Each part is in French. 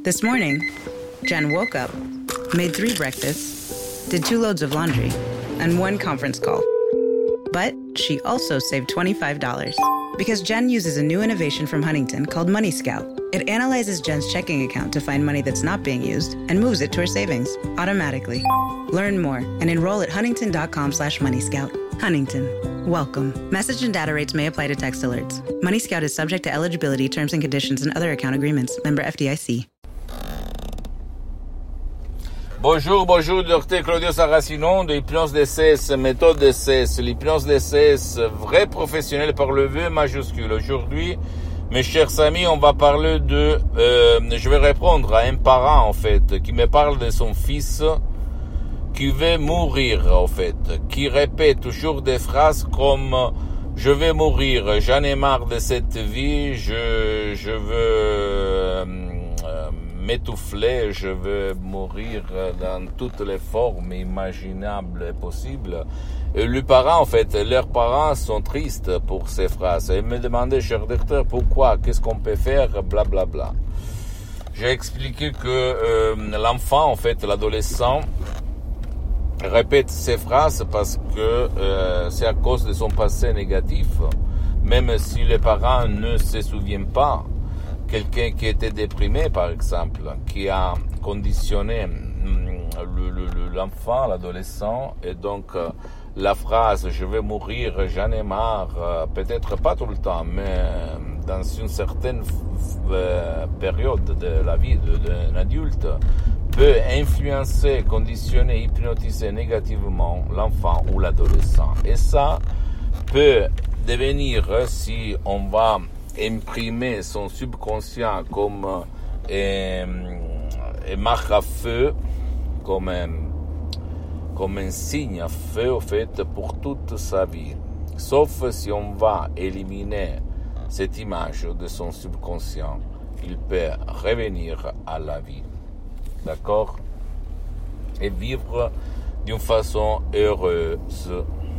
This morning, Jen woke up, made 3 breakfasts, did 2 loads of laundry, and 1 conference call. But she also saved $25 because Jen uses a new innovation from Huntington called Money Scout. It analyzes Jen's checking account to find money that's not being used and moves it to her savings automatically. Learn more and enroll at huntington.com/moneyscout. Huntington. Welcome. Message and data rates may apply to text alerts. Money Scout is subject to eligibility, terms and conditions, and other account agreements. Member FDIC. Bonjour, docteur Claudio Saracino de l'hypnose DCS, méthode DCS, l'hypnose DCS, vrai professionnel par le V majuscule. Aujourd'hui, mes chers amis, on va parler je vais répondre à un parent, en fait, qui me parle de son fils qui veut mourir, en fait, qui répète toujours des phrases comme « je vais mourir, j'en ai marre de cette vie, je veux m'étouffer, je veux mourir dans toutes les formes imaginables et possibles ». Et leurs parents sont tristes pour ces phrases. Ils me demandaient, cher docteur, pourquoi, qu'est-ce qu'on peut faire, blablabla. Bla, bla. J'ai expliqué que l'enfant, en fait, l'adolescent, répète ces phrases parce que c'est à cause de son passé négatif. Même si les parents ne se souviennent pas, quelqu'un qui était déprimé, par exemple, qui a conditionné l'enfant, l'adolescent, et donc la phrase « je vais mourir, j'en ai marre », peut-être pas tout le temps, mais dans une certaine période de la vie d'un adulte, peut influencer, conditionner, hypnotiser négativement l'enfant ou l'adolescent. Et ça peut devenir, si on va imprimer son subconscient comme une marque à feu, comme un signe à feu, en fait, pour toute sa vie. Sauf si on va éliminer cette image de son subconscient, il peut revenir à la vie. D'accord? Et vivre d'une façon heureuse.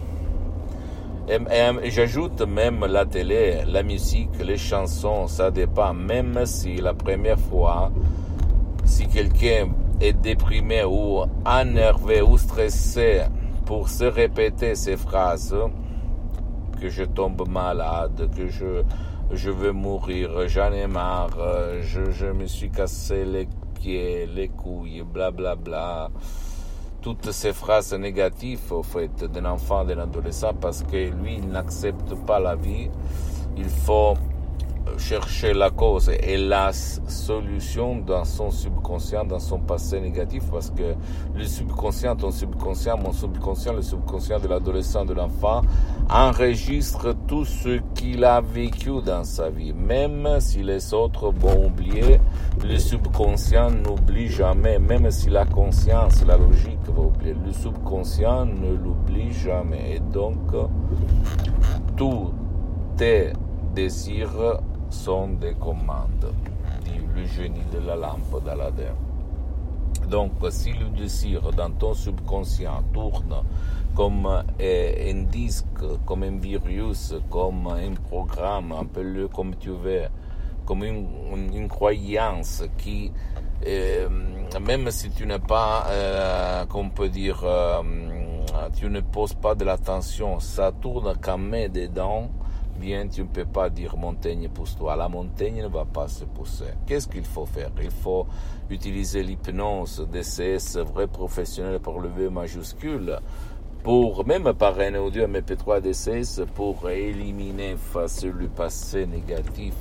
Et j'ajoute même la télé, la musique, les chansons, ça dépend. Même si la première fois, si quelqu'un est déprimé ou énervé ou stressé pour se répéter ces phrases, que je tombe malade, que je veux mourir, j'en ai marre, je me suis cassé les pieds, les couilles, blablabla. Bla, bla. Toutes ces phrases négatives, au fait, d'un enfant, d'un adolescent, parce que lui, il n'accepte pas la vie. Il faut chercher la cause et la solution dans son subconscient, dans son passé négatif, parce que le subconscient, ton subconscient, mon subconscient, le subconscient de l'adolescent, de l'enfant, enregistre tout ce qu'il a vécu dans sa vie. Même si les autres vont oublier, le subconscient n'oublie jamais, même si la conscience, la logique va oublier. Le subconscient ne l'oublie jamais. Et donc, tous tes désirs sont des commandes, dit le génie de la lampe d'Aladin. Donc, si le désir dans ton subconscient tourne comme un disque, comme un virus, comme un programme, appelle-le comme tu veux, comme une croyance qui, même si tu n'es pas, qu'on peut dire, tu ne poses pas de l'attention, ça tourne quand même dedans. Bien, tu ne peux pas dire montagne pousse-toi. La montagne ne va pas se pousser. Qu'est-ce qu'il faut faire? Il faut utiliser l'hypnose DCS vrai professionnel par le V majuscule pour, même par un audio MP3 DCS, pour éliminer face le passé négatif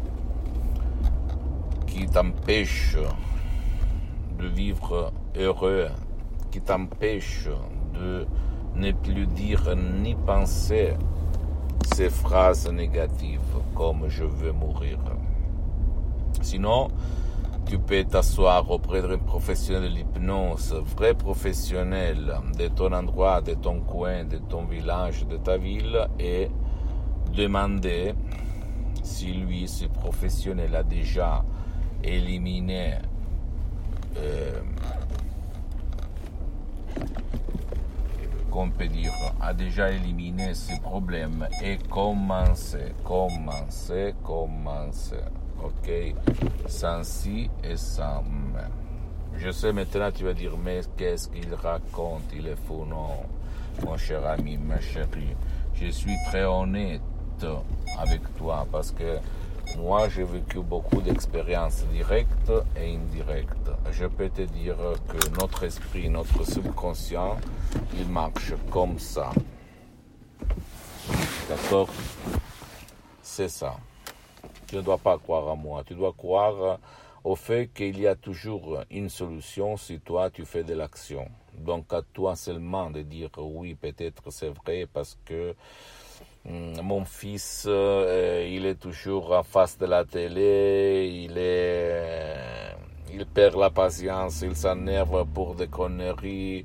qui t'empêche de vivre heureux, qui t'empêche de ne plus dire ni penser ces phrases négatives comme « je veux mourir ». Sinon, tu peux t'asseoir auprès d'un professionnel de l'hypnose, vrai professionnel de ton endroit, de ton coin, de ton village, de ta ville, et demander si lui, ce professionnel, a déjà éliminé qu'on peut dire, a déjà éliminé ces problèmes et commencer ok? Sans si et sans mais. Je sais maintenant, tu vas dire, mais qu'est-ce qu'il raconte? Il est fou, non? Mon cher ami, ma chérie, je suis très honnête avec toi parce que moi, j'ai vécu beaucoup d'expériences directes et indirectes. Je peux te dire que notre esprit, notre subconscient, il marche comme ça. D'accord? C'est ça. Tu ne dois pas croire à moi. Tu dois croire au fait qu'il y a toujours une solution si toi, tu fais de l'action. Donc, à toi seulement de dire oui, peut-être c'est vrai parce que mon fils, il est toujours en face de la télé, il perd la patience, il s'énerve pour des conneries.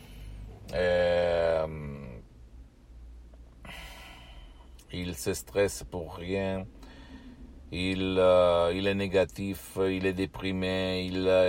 Il se stresse pour rien. Il est négatif, il est déprimé,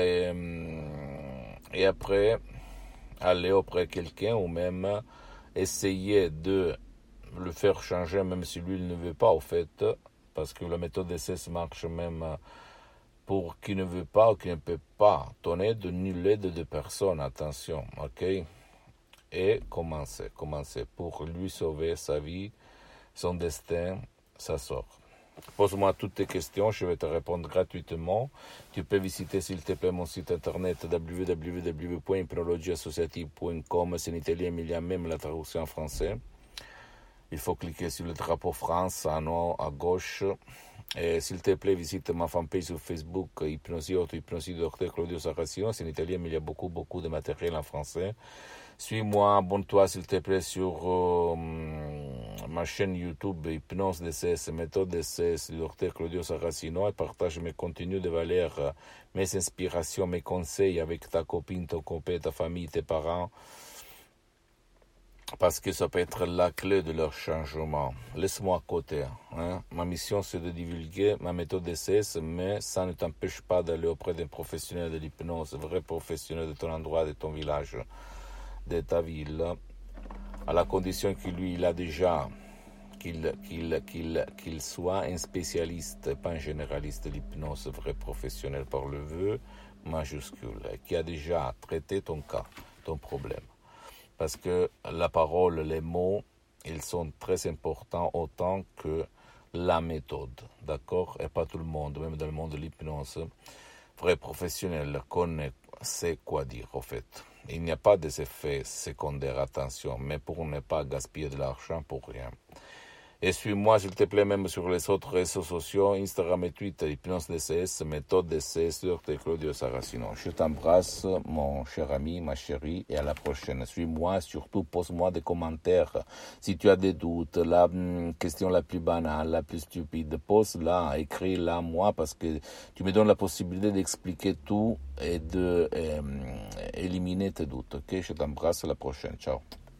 et après, aller auprès de quelqu'un ou même essayer de le faire changer, même si lui il ne veut pas, au fait, parce que la méthode d'essai marche même pour qui ne veut pas ou qui ne peut pas. Ton aide, nulle aide de personne, attention, ok? Et commencer pour lui sauver sa vie, son destin, sa sort. Pose-moi toutes tes questions, je vais te répondre gratuitement. Tu peux visiter s'il te plaît mon site internet www.hypnologieassociative.com. C'est en italien, mais il y a même la traduction en français. Il faut cliquer sur le drapeau France en haut à gauche. Et s'il te plaît, visite ma fanpage sur Facebook, Hypnosie Auto, Hypnosie Dr Claudio Saracino. C'est en italien, mais il y a beaucoup de matériel en français. Suis-moi, abonne-toi s'il te plaît sur ma chaîne YouTube Hypnose DCS, méthode DCS du Dr Claudio Saracino et partage mes contenus de valeur, mes inspirations, mes conseils avec ta copine, ton copain, ta famille, tes parents, parce que ça peut être la clé de leur changement. Laisse-moi à côté. Ma mission, c'est de divulguer ma méthode DCS, mais ça ne t'empêche pas d'aller auprès d'un professionnel de l'hypnose, vrai professionnel de ton endroit, de ton village, de ta ville, à la condition qu'il soit un spécialiste, pas un généraliste de l'hypnose, vrai professionnel par le vœu majuscule, qui a déjà traité ton cas, ton problème. Parce que la parole, les mots, ils sont très importants autant que la méthode, d'accord? Et pas tout le monde, même dans le monde de l'hypnose, vrai professionnel sait quoi dire, au fait. Il n'y a pas des effets secondaires, attention, mais pour ne pas gaspiller de l'argent pour rien. Et suis-moi, s'il te plaît, même sur les autres réseaux sociaux, Instagram et Twitter, Hypnose DCS, méthode DCS, Dr Claudio Saracino. Je t'embrasse, mon cher ami, ma chérie, et à la prochaine. Suis-moi, surtout, pose-moi des commentaires. Si tu as des doutes, la question la plus banale, la plus stupide, pose-la, écris-la, moi, parce que tu me donnes la possibilité d'expliquer tout et de éliminer tes doutes. Ok, je t'embrasse, à la prochaine. Ciao.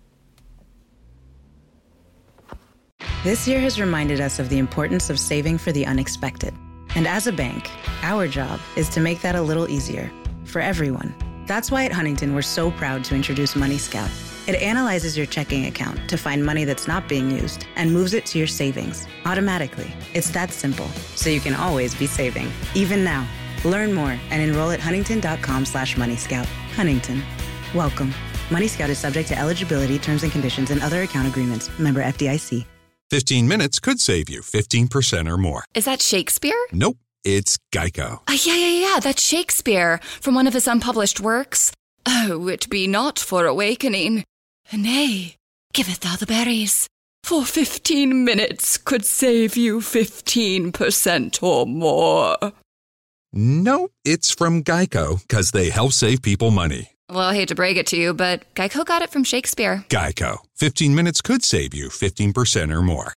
This year has reminded us of the importance of saving for the unexpected. And as a bank, our job is to make that a little easier for everyone. That's why at Huntington, we're so proud to introduce Money Scout. It analyzes your checking account to find money that's not being used and moves it to your savings automatically. It's that simple, so you can always be saving, even now. Learn more and enroll at huntington.com/moneyscout. Huntington. Welcome. Money Scout is subject to eligibility, terms and conditions, and other account agreements. Member FDIC. 15 minutes could save you 15% or more. Is that Shakespeare? Nope, it's Geico. Yeah, that's Shakespeare from one of his unpublished works. Oh, it be not for awakening. Nay, giveth thou the berries. For 15 minutes could save you 15% or more. No, it's from Geico, because they help save people money. Well, I hate to break it to you, but Geico got it from Shakespeare. Geico. 15 minutes could save you 15% or more.